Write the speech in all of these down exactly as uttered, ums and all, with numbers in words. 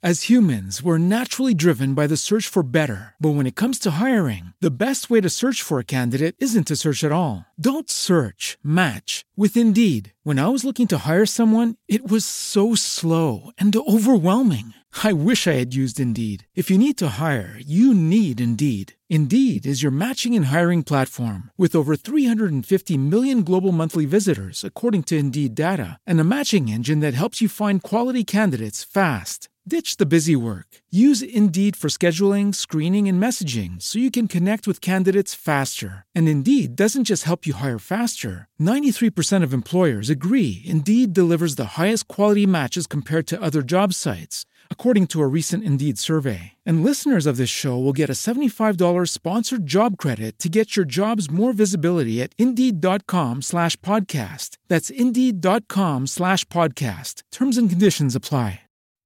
As humans, we're naturally driven by the search for better. But when it comes to hiring, the best way to search for a candidate isn't to search at all. Don't search, match with Indeed. When I was looking to hire someone, it was so slow and overwhelming. I wish I had used Indeed. If you need to hire, you need Indeed. Indeed is your matching and hiring platform with over three hundred fifty million global monthly visitors, according to Indeed data, and a matching engine that helps you find quality candidates fast. Ditch the busy work. Use Indeed for scheduling, screening, and messaging so you can connect with candidates faster. And Indeed doesn't just help you hire faster. ninety-three percent of employers agree Indeed delivers the highest quality matches compared to other job sites, according to a recent Indeed survey. And listeners of this show will get a seventy-five dollars sponsored job credit to get your jobs more visibility at Indeed.com slash podcast. That's Indeed.com slash podcast. Terms and conditions apply.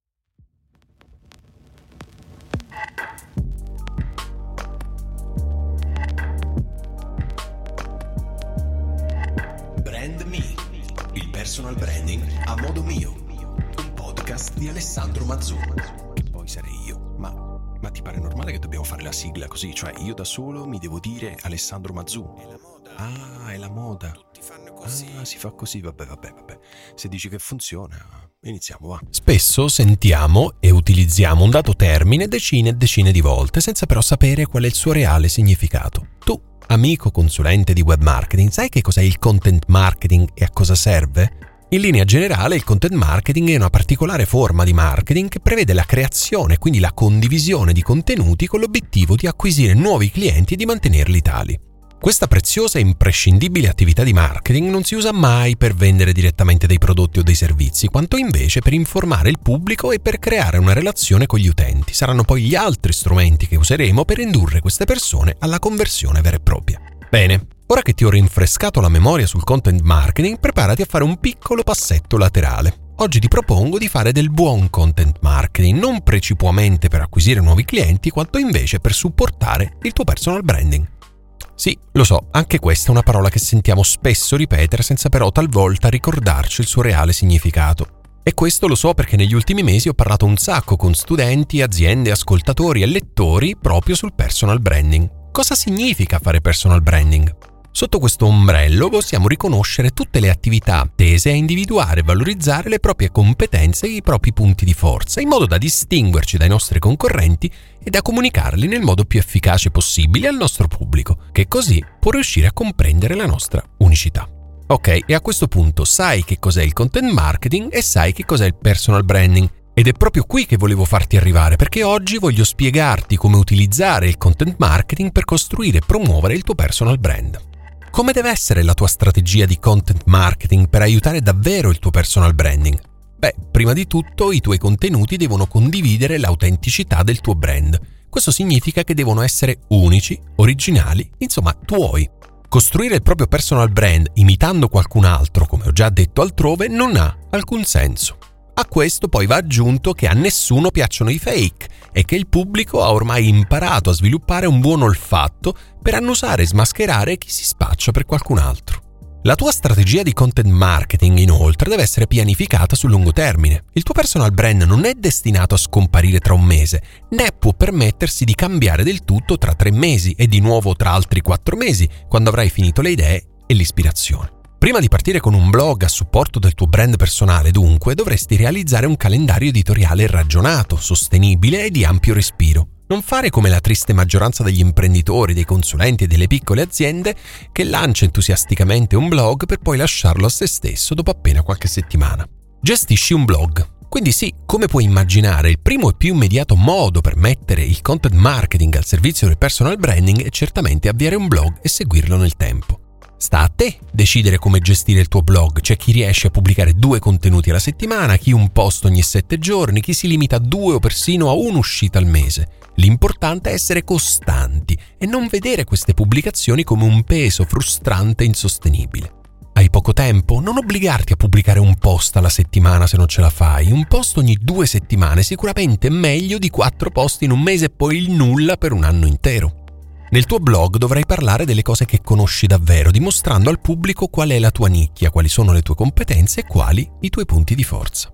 Brand Me, il personal branding a modo mio. Un podcast di Alessandro Mazzu. Che poi sarei io. Ma, ma ti pare normale che dobbiamo fare la sigla così? Cioè io da solo mi devo dire Alessandro Mazzu? È la moda. Ah, è la moda. Tutti fanno così. Ah, si fa così. Vabbè, vabbè, vabbè. Se dici che funziona, iniziamo, va. Spesso sentiamo e utilizziamo un dato termine decine e decine di volte senza però sapere qual è il suo reale significato. Tu, amico consulente di web marketing, sai che cos'è il content marketing e a cosa serve? In linea generale, il content marketing è una particolare forma di marketing che prevede la creazione e quindi la condivisione di contenuti con l'obiettivo di acquisire nuovi clienti e di mantenerli tali. Questa preziosa e imprescindibile attività di marketing non si usa mai per vendere direttamente dei prodotti o dei servizi, quanto invece per informare il pubblico e per creare una relazione con gli utenti. Saranno poi gli altri strumenti che useremo per indurre queste persone alla conversione vera e propria. Bene, ora che ti ho rinfrescato la memoria sul content marketing, preparati a fare un piccolo passetto laterale. Oggi ti propongo di fare del buon content marketing, non precipuamente per acquisire nuovi clienti, quanto invece per supportare il tuo personal branding. Sì, lo so, anche questa è una parola che sentiamo spesso ripetere senza però talvolta ricordarci il suo reale significato. E questo lo so perché negli ultimi mesi ho parlato un sacco con studenti, aziende, ascoltatori e lettori proprio sul personal branding. Cosa significa fare personal branding? Sotto questo ombrello possiamo riconoscere tutte le attività tese a individuare e valorizzare le proprie competenze e i propri punti di forza, in modo da distinguerci dai nostri concorrenti e da comunicarli nel modo più efficace possibile al nostro pubblico, che così può riuscire a comprendere la nostra unicità. Ok, e a questo punto sai che cos'è il content marketing e sai che cos'è il personal branding. Ed è proprio qui che volevo farti arrivare, perché oggi voglio spiegarti come utilizzare il content marketing per costruire e promuovere il tuo personal brand. Come deve essere la tua strategia di content marketing per aiutare davvero il tuo personal branding? Beh, prima di tutto i tuoi contenuti devono condividere l'autenticità del tuo brand. Questo significa che devono essere unici, originali, insomma tuoi. Costruire il proprio personal brand imitando qualcun altro, come ho già detto altrove, non ha alcun senso. A questo poi va aggiunto che a nessuno piacciono i fake e che il pubblico ha ormai imparato a sviluppare un buon olfatto per annusare e smascherare chi si spaccia per qualcun altro. La tua strategia di content marketing, inoltre, deve essere pianificata sul lungo termine. Il tuo personal brand non è destinato a scomparire tra un mese, né può permettersi di cambiare del tutto tra tre mesi e di nuovo tra altri quattro mesi, quando avrai finito le idee e l'ispirazione. Prima di partire con un blog a supporto del tuo brand personale, dunque, dovresti realizzare un calendario editoriale ragionato, sostenibile e di ampio respiro. Non fare come la triste maggioranza degli imprenditori, dei consulenti e delle piccole aziende che lancia entusiasticamente un blog per poi lasciarlo a se stesso dopo appena qualche settimana. Gestisci un blog. Quindi sì, come puoi immaginare, il primo e più immediato modo per mettere il content marketing al servizio del personal branding è certamente avviare un blog e seguirlo nel tempo. Sta a te decidere come gestire il tuo blog. C'è chi riesce a pubblicare due contenuti alla settimana, chi un post ogni sette giorni, chi si limita a due o persino a un'uscita al mese. L'importante è essere costanti e non vedere queste pubblicazioni come un peso frustrante e insostenibile. Hai poco tempo? Non obbligarti a pubblicare un post alla settimana se non ce la fai. Un post ogni due settimane è sicuramente meglio di quattro post in un mese e poi il nulla per un anno intero. Nel tuo blog dovrai parlare delle cose che conosci davvero, dimostrando al pubblico qual è la tua nicchia, quali sono le tue competenze e quali i tuoi punti di forza.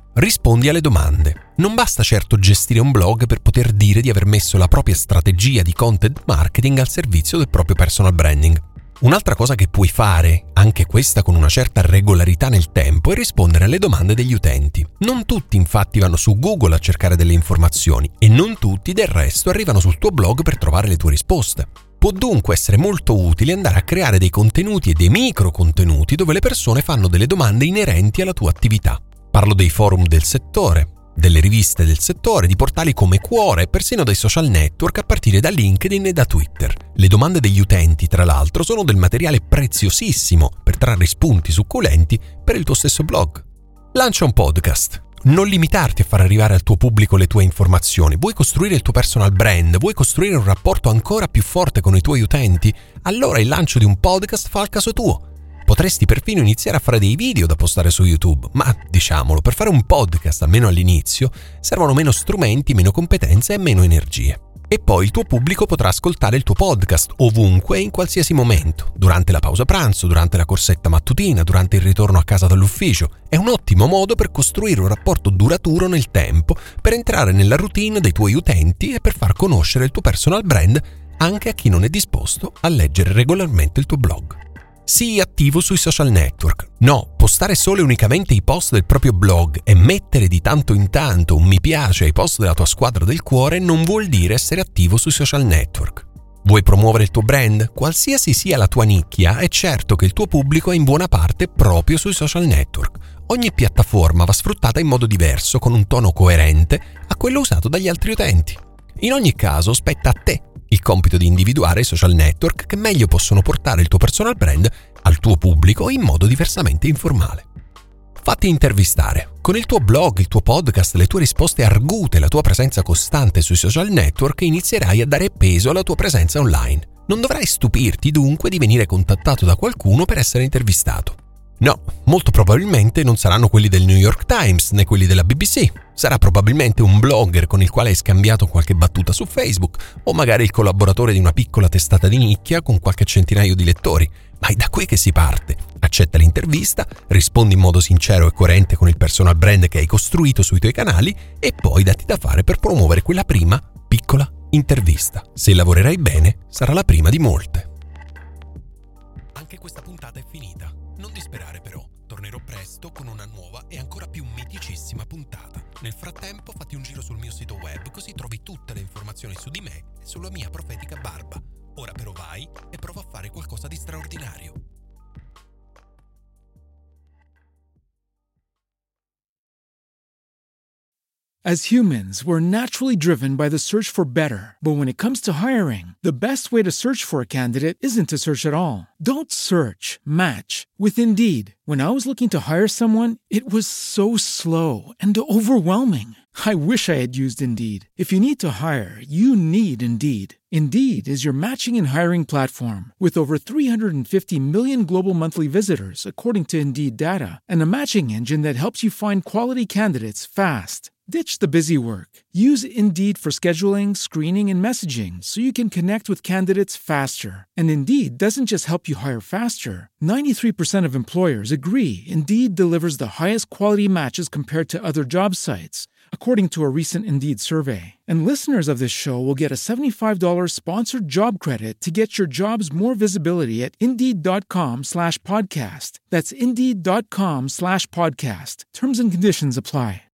Rispondi alle domande. Non basta certo gestire un blog per poter dire di aver messo la propria strategia di content marketing al servizio del proprio personal branding. Un'altra cosa che puoi fare, anche questa con una certa regolarità nel tempo, è rispondere alle domande degli utenti. Non tutti infatti vanno su Google a cercare delle informazioni e non tutti del resto arrivano sul tuo blog per trovare le tue risposte. Può dunque essere molto utile andare a creare dei contenuti e dei micro contenuti dove le persone fanno delle domande inerenti alla tua attività. Parlo dei forum del settore, delle riviste del settore, di portali come Quora e persino dai social network a partire da LinkedIn e da Twitter. Le domande degli utenti, tra l'altro, sono del materiale preziosissimo per trarre spunti succulenti per il tuo stesso blog. Lancia un podcast. Non limitarti a far arrivare al tuo pubblico le tue informazioni. Vuoi costruire il tuo personal brand? Vuoi costruire un rapporto ancora più forte con i tuoi utenti? Allora il lancio di un podcast fa il caso tuo. Potresti perfino iniziare a fare dei video da postare su YouTube, ma diciamolo, per fare un podcast, almeno all'inizio, servono meno strumenti, meno competenze e meno energie. E poi il tuo pubblico potrà ascoltare il tuo podcast ovunque e in qualsiasi momento, durante la pausa pranzo, durante la corsetta mattutina, durante il ritorno a casa dall'ufficio. È un ottimo modo per costruire un rapporto duraturo nel tempo, per entrare nella routine dei tuoi utenti e per far conoscere il tuo personal brand anche a chi non è disposto a leggere regolarmente il tuo blog. Sii attivo sui social network. No, postare solo e unicamente i post del proprio blog e mettere di tanto in tanto un mi piace ai post della tua squadra del cuore non vuol dire essere attivo sui social network. Vuoi promuovere il tuo brand? Qualsiasi sia la tua nicchia, è certo che il tuo pubblico è in buona parte proprio sui social network. Ogni piattaforma va sfruttata in modo diverso, con un tono coerente a quello usato dagli altri utenti. In ogni caso, spetta a te il compito di individuare i social network che meglio possono portare il tuo personal brand al tuo pubblico in modo diversamente informale. Fatti intervistare. Con il tuo blog, il tuo podcast, le tue risposte argute e la tua presenza costante sui social network inizierai a dare peso alla tua presenza online. Non dovrai stupirti dunque di venire contattato da qualcuno per essere intervistato. No, molto probabilmente non saranno quelli del New York Times né quelli della B B C. Sarà probabilmente un blogger con il quale hai scambiato qualche battuta su Facebook o magari il collaboratore di una piccola testata di nicchia con qualche centinaio di lettori. Ma è da qui che si parte. Accetta l'intervista, rispondi in modo sincero e coerente con il personal brand che hai costruito sui tuoi canali e poi datti da fare per promuovere quella prima piccola intervista. Se lavorerai bene, sarà la prima di molte. Anche questa puntata è finita. Non disperare però, tornerò presto con una nuova e ancora più miticissima puntata. Nel frattempo fatti un giro sul mio sito web così trovi tutte le informazioni su di me e sulla mia profetica barba. Ora però vai e prova a fare qualcosa di straordinario. As humans, we're naturally driven by the search for better. But when it comes to hiring, the best way to search for a candidate isn't to search at all. Don't search, match with Indeed. When I was looking to hire someone, it was so slow and overwhelming. I wish I had used Indeed. If you need to hire, you need Indeed. Indeed is your matching and hiring platform with over three hundred fifty million global monthly visitors, according to Indeed data, and a matching engine that helps you find quality candidates fast. Ditch the busy work. Use Indeed for scheduling, screening, and messaging so you can connect with candidates faster. And Indeed doesn't just help you hire faster. ninety-three percent of employers agree Indeed delivers the highest quality matches compared to other job sites, according to a recent Indeed survey. And listeners of this show will get a seventy-five dollars sponsored job credit to get your jobs more visibility at Indeed.com slash podcast. That's Indeed.com slash podcast. Terms and conditions apply.